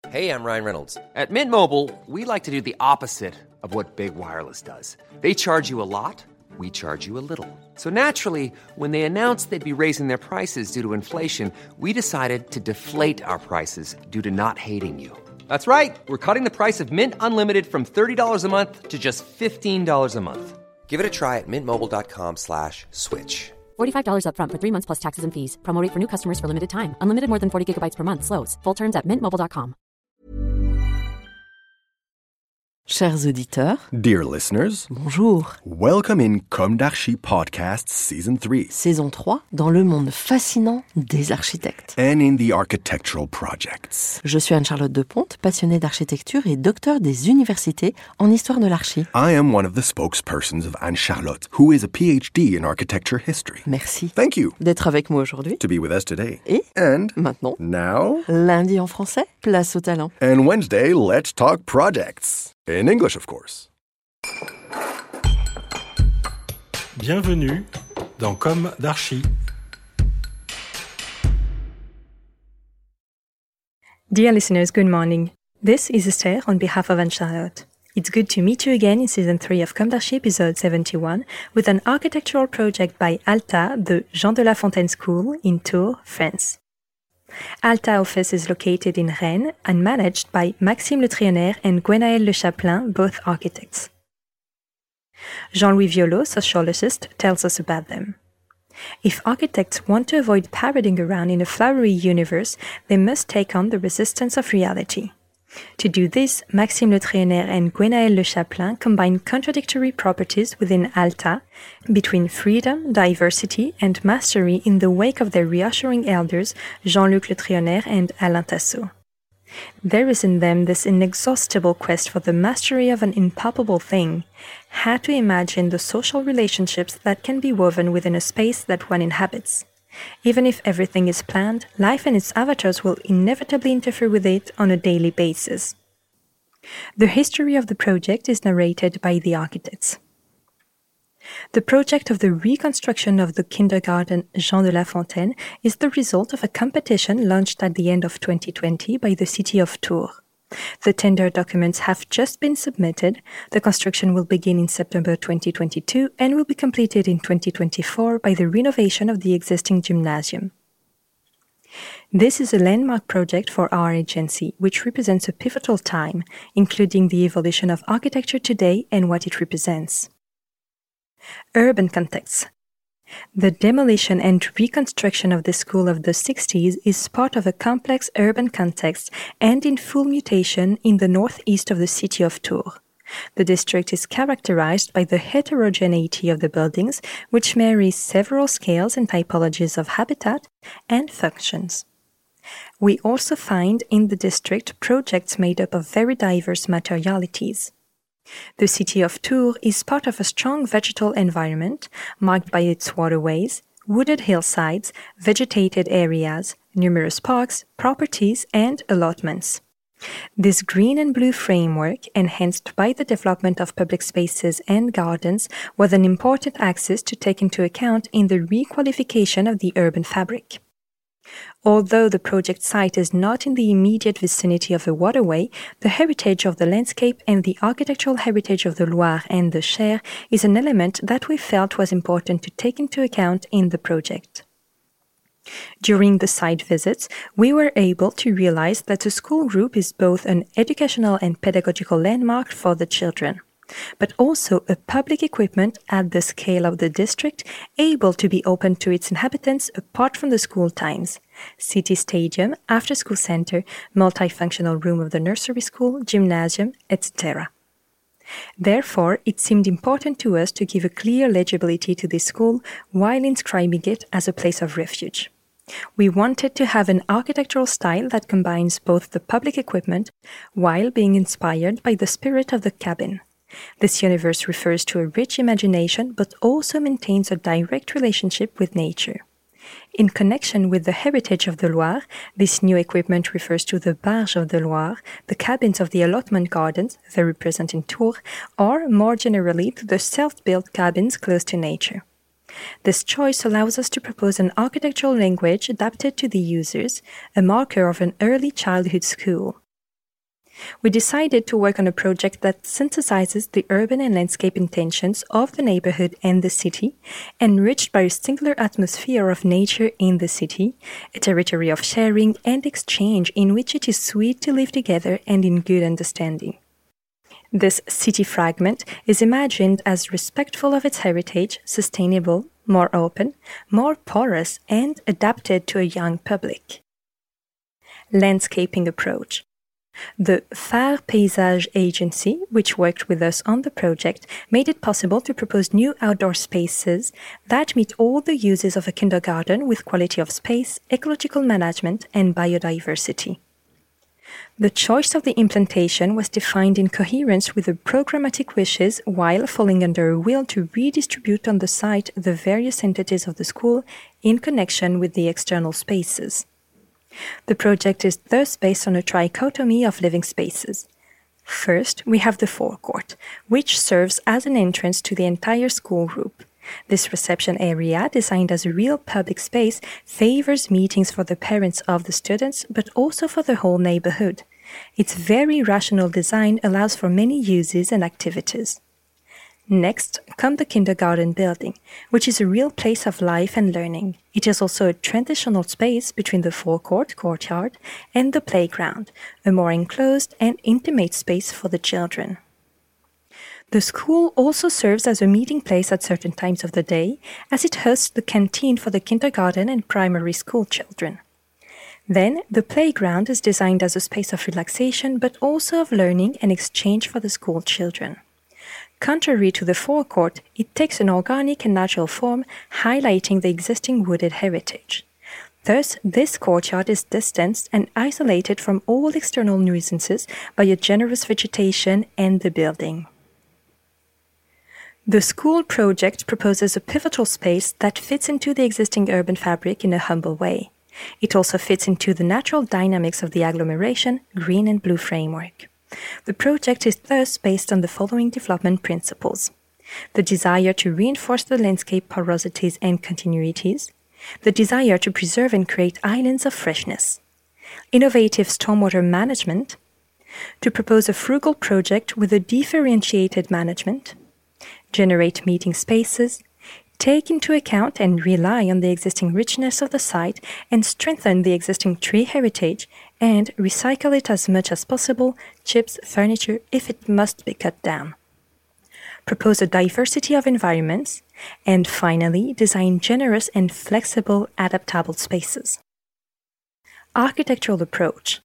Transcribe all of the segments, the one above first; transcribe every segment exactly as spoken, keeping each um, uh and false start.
Hey, I'm Ryan Reynolds. At Mint Mobile, we like to do the opposite of what Big Wireless does. They charge you a lot, we charge you a little. So naturally, when they announced they'd be raising their prices due to inflation, we decided to deflate our prices due to not hating you. That's right. We're cutting the price of Mint Unlimited from thirty dollars a month to just fifteen dollars a month. Give it a try at mintmobile.com slash switch. forty-five dollars up front for three months plus taxes and fees. Promo rate for new customers for limited time. Unlimited more than forty gigabytes per month. Slows full terms at mint mobile dot com. Chers auditeurs, dear listeners, bonjour. Welcome in Comme d'Archi Podcast Season three. Saison trois, dans le monde fascinant des architectes. And in the architectural projects. Je suis Anne-Charlotte Deponte, passionnée d'architecture et docteur des universités en histoire de l'archi. I am one of the spokespersons of Anne-Charlotte, who is a P H D in architecture history. Merci. Thank you. D'être avec moi aujourd'hui. To be with us today. Et And maintenant, now, lundi en français, place au talent. And Wednesday, let's talk projects. In English, of course. Bienvenue dans Comme d'Archi. Dear listeners, good morning. This is Esther on behalf of Anne-Charlotte. It's good to meet you again in Season three of Comme d'Archi, episode seventy-one, with an architectural project by ALTA, the Jean de La Fontaine School in Tours, France. ALTA office is located in Rennes and managed by Maxime Le Trionnaire and Gwenaëlle Le Chaplin, both architects. Jean-Louis Violot, sociologist, tells us about them. If architects want to avoid parading around in a flowery universe, they must take on the resistance of reality. To do this, Maxime Le Trionnaire and Gwenaëlle Le Chaplin combine contradictory properties within ALTA between freedom, diversity, and mastery in the wake of their reassuring elders, Jean-Luc Le Trionnaire and Alain Tassot. There is in them this inexhaustible quest for the mastery of an impalpable thing, how to imagine the social relationships that can be woven within a space that one inhabits. Even if everything is planned, life and its avatars will inevitably interfere with it on a daily basis. The history of the project is narrated by the architects. The project of the reconstruction of the kindergarten Jean de La Fontaine is the result of a competition launched at the end of twenty twenty by the city of Tours. The tender documents have just been submitted. The construction will begin in September twenty twenty-two and will be completed in twenty twenty-four by the renovation of the existing gymnasium. This is a landmark project for our agency, which represents a pivotal time, including the evolution of architecture today and what it represents. Urban context. The demolition and reconstruction of the school of the sixties is part of a complex urban context and in full mutation in the northeast of the city of Tours. The district is characterized by the heterogeneity of the buildings, which marries several scales and typologies of habitat and functions. We also find in the district projects made up of very diverse materialities. The city of Tours is part of a strong vegetal environment, marked by its waterways, wooded hillsides, vegetated areas, numerous parks, properties, and allotments. This green and blue framework, enhanced by the development of public spaces and gardens, was an important axis to take into account in the requalification of the urban fabric. Although the project site is not in the immediate vicinity of a waterway, the heritage of the landscape and the architectural heritage of the Loire and the Cher is an element that we felt was important to take into account in the project. During the site visits, we were able to realize that the school group is both an educational and pedagogical landmark for the children, but also a public equipment at the scale of the district, able to be open to its inhabitants apart from the school times. City stadium, after-school center, multifunctional room of the nursery school, gymnasium, et cetera. Therefore, it seemed important to us to give a clear legibility to this school while inscribing it as a place of refuge. We wanted to have an architectural style that combines both the public equipment while being inspired by the spirit of the cabin. This universe refers to a rich imagination but also maintains a direct relationship with nature. In connection with the heritage of the Loire, this new equipment refers to the barges of the Loire, the cabins of the allotment gardens, very present in Tours, or more generally to the self-built cabins close to nature. This choice allows us to propose an architectural language adapted to the users, a marker of an early childhood school. We decided to work on a project that synthesizes the urban and landscape intentions of the neighborhood and the city, enriched by a singular atmosphere of nature in the city, a territory of sharing and exchange in which it is sweet to live together and in good understanding. This city fragment is imagined as respectful of its heritage, sustainable, more open, more porous, and adapted to a young public. Landscaping approach. The Phare Paysage Agency, which worked with us on the project, made it possible to propose new outdoor spaces that meet all the uses of a kindergarten with quality of space, ecological management, and biodiversity. The choice of the implantation was defined in coherence with the programmatic wishes while falling under a will to redistribute on the site the various entities of the school in connection with the external spaces. The project is thus based on a trichotomy of living spaces. First, we have the forecourt, which serves as an entrance to the entire school group. This reception area, designed as a real public space, favors meetings for the parents of the students, but also for the whole neighborhood. Its very rational design allows for many uses and activities. Next come the kindergarten building, which is a real place of life and learning. It is also a transitional space between the forecourt courtyard and the playground, a more enclosed and intimate space for the children. The school also serves as a meeting place at certain times of the day, as it hosts the canteen for the kindergarten and primary school children. Then, the playground is designed as a space of relaxation, but also of learning and exchange for the school children. Contrary to the forecourt, it takes an organic and natural form, highlighting the existing wooded heritage. Thus, this courtyard is distanced and isolated from all external nuisances by a generous vegetation and the building. The school project proposes a pivotal space that fits into the existing urban fabric in a humble way. It also fits into the natural dynamics of the agglomeration, green and blue framework. The project is thus based on the following development principles: the desire to reinforce the landscape porosities and continuities, the desire to preserve and create islands of freshness, innovative stormwater management, to propose a frugal project with a differentiated management, generate meeting spaces, take into account and rely on the existing richness of the site and strengthen the existing tree heritage, and recycle it as much as possible, chips, furniture, if it must be cut down. Propose a diversity of environments, and finally, design generous and flexible, adaptable spaces. Architectural approach.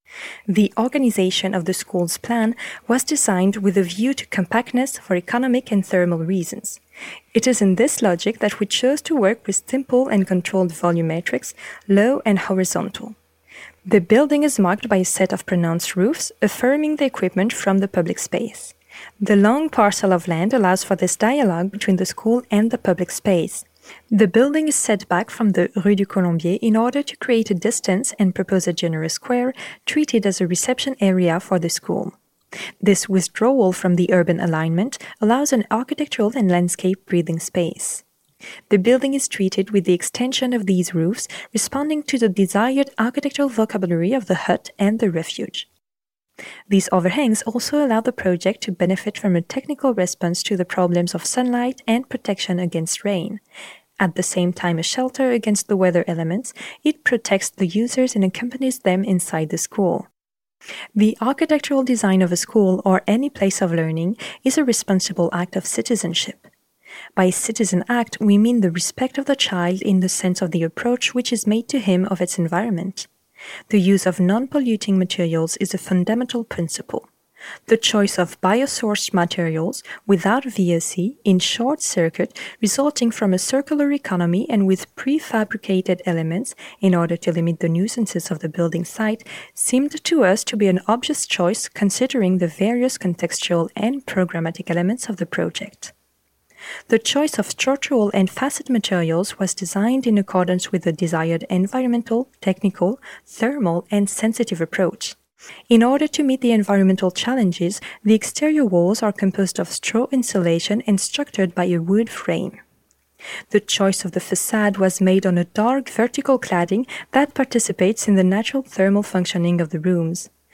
The organization of the school's plan was designed with a view to compactness for economic and thermal reasons. It is in this logic that we chose to work with simple and controlled volumetrics, low and horizontal. The building is marked by a set of pronounced roofs, affirming the equipment from the public space. The long parcel of land allows for this dialogue between the school and the public space. The building is set back from the Rue du Colombier in order to create a distance and propose a generous square treated as a reception area for the school. This withdrawal from the urban alignment allows an architectural and landscape breathing space. The building is treated with the extension of these roofs, responding to the desired architectural vocabulary of the hut and the refuge. These overhangs also allow the project to benefit from a technical response to the problems of sunlight and protection against rain. At the same time a shelter against the weather elements, it protects the users and accompanies them inside the school. The architectural design of a school or any place of learning is a responsible act of citizenship. By citizen act, we mean the respect of the child in the sense of the approach which is made to him of its environment. The use of non-polluting materials is a fundamental principle. The choice of biosourced materials without V O C in short circuit, resulting from a circular economy and with prefabricated elements in order to limit the nuisances of the building site, seemed to us to be an obvious choice considering the various contextual and programmatic elements of the project. The choice of structural and facet materials was designed in accordance with the desired environmental, technical, thermal, and sensitive approach. In order to meet the environmental challenges, the exterior walls are composed of straw insulation and structured by a wood frame. The choice of the facade was made on a dark vertical cladding that participates in the natural thermal functioning of the rooms.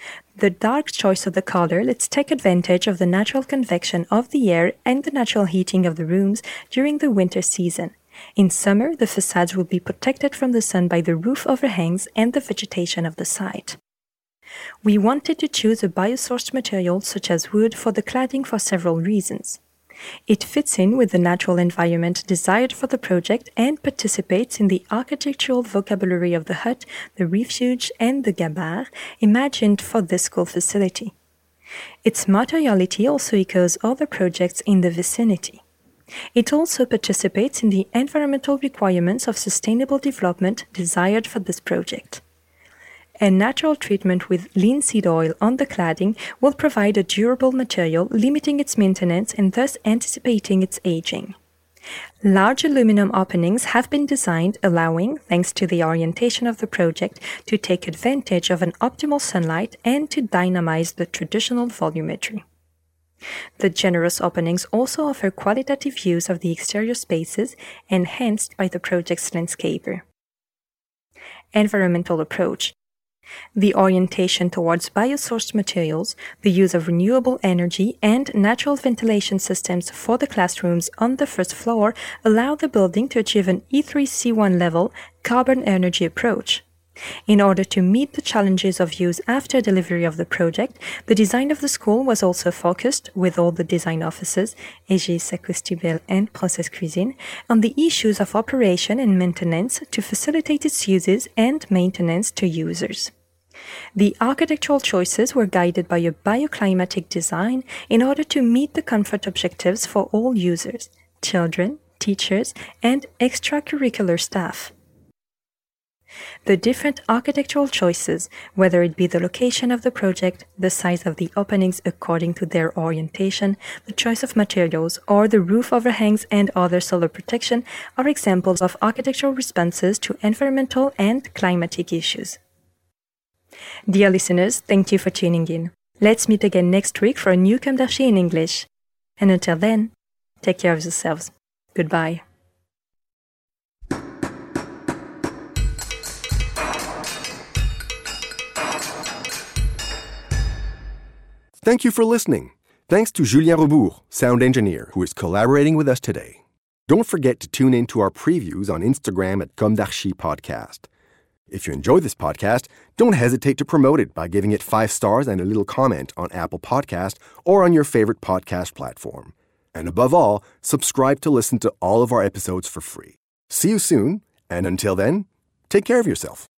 The dark choice of the color lets take advantage of the natural convection of the air and the natural heating of the rooms during the winter season. In summer, the facades will be protected from the sun by the roof overhangs and the vegetation of the site. We wanted to choose a biosourced material such as wood for the cladding for several reasons. It fits in with the natural environment desired for the project and participates in the architectural vocabulary of the hut, the refuge, and the gabar imagined for this school facility. Its materiality also echoes other projects in the vicinity. It also participates in the environmental requirements of sustainable development desired for this project. A natural treatment with linseed oil on the cladding will provide a durable material, limiting its maintenance and thus anticipating its aging. Large aluminum openings have been designed, allowing, thanks to the orientation of the project, to take advantage of an optimal sunlight and to dynamize the traditional volumetry. The generous openings also offer qualitative views of the exterior spaces, enhanced by the project's landscaper. Environmental approach. The orientation towards biosourced materials, the use of renewable energy, and natural ventilation systems for the classrooms on the first floor allow the building to achieve an E three C one level carbon energy approach. In order to meet the challenges of use after delivery of the project, the design of the school was also focused, with all the design offices, Aegis, Acoustibel, and Process Cuisine, on the issues of operation and maintenance to facilitate its uses and maintenance to users. The architectural choices were guided by a bioclimatic design in order to meet the comfort objectives for all users, children, teachers, and extracurricular staff. The different architectural choices, whether it be the location of the project, the size of the openings according to their orientation, the choice of materials, or the roof overhangs and other solar protection, are examples of architectural responses to environmental and climatic issues. Dear listeners, thank you for tuning in. Let's meet again next week for a new Comme d'Archi in English. And until then, take care of yourselves. Goodbye. Thank you for listening. Thanks to Julien Rebourg, sound engineer, who is collaborating with us today. Don't forget to tune in to our previews on Instagram at Comme d'Archi Podcast. If you enjoy this podcast, don't hesitate to promote it by giving it five stars and a little comment on Apple Podcast or on your favorite podcast platform. And above all, subscribe to listen to all of our episodes for free. See you soon, and until then, take care of yourself.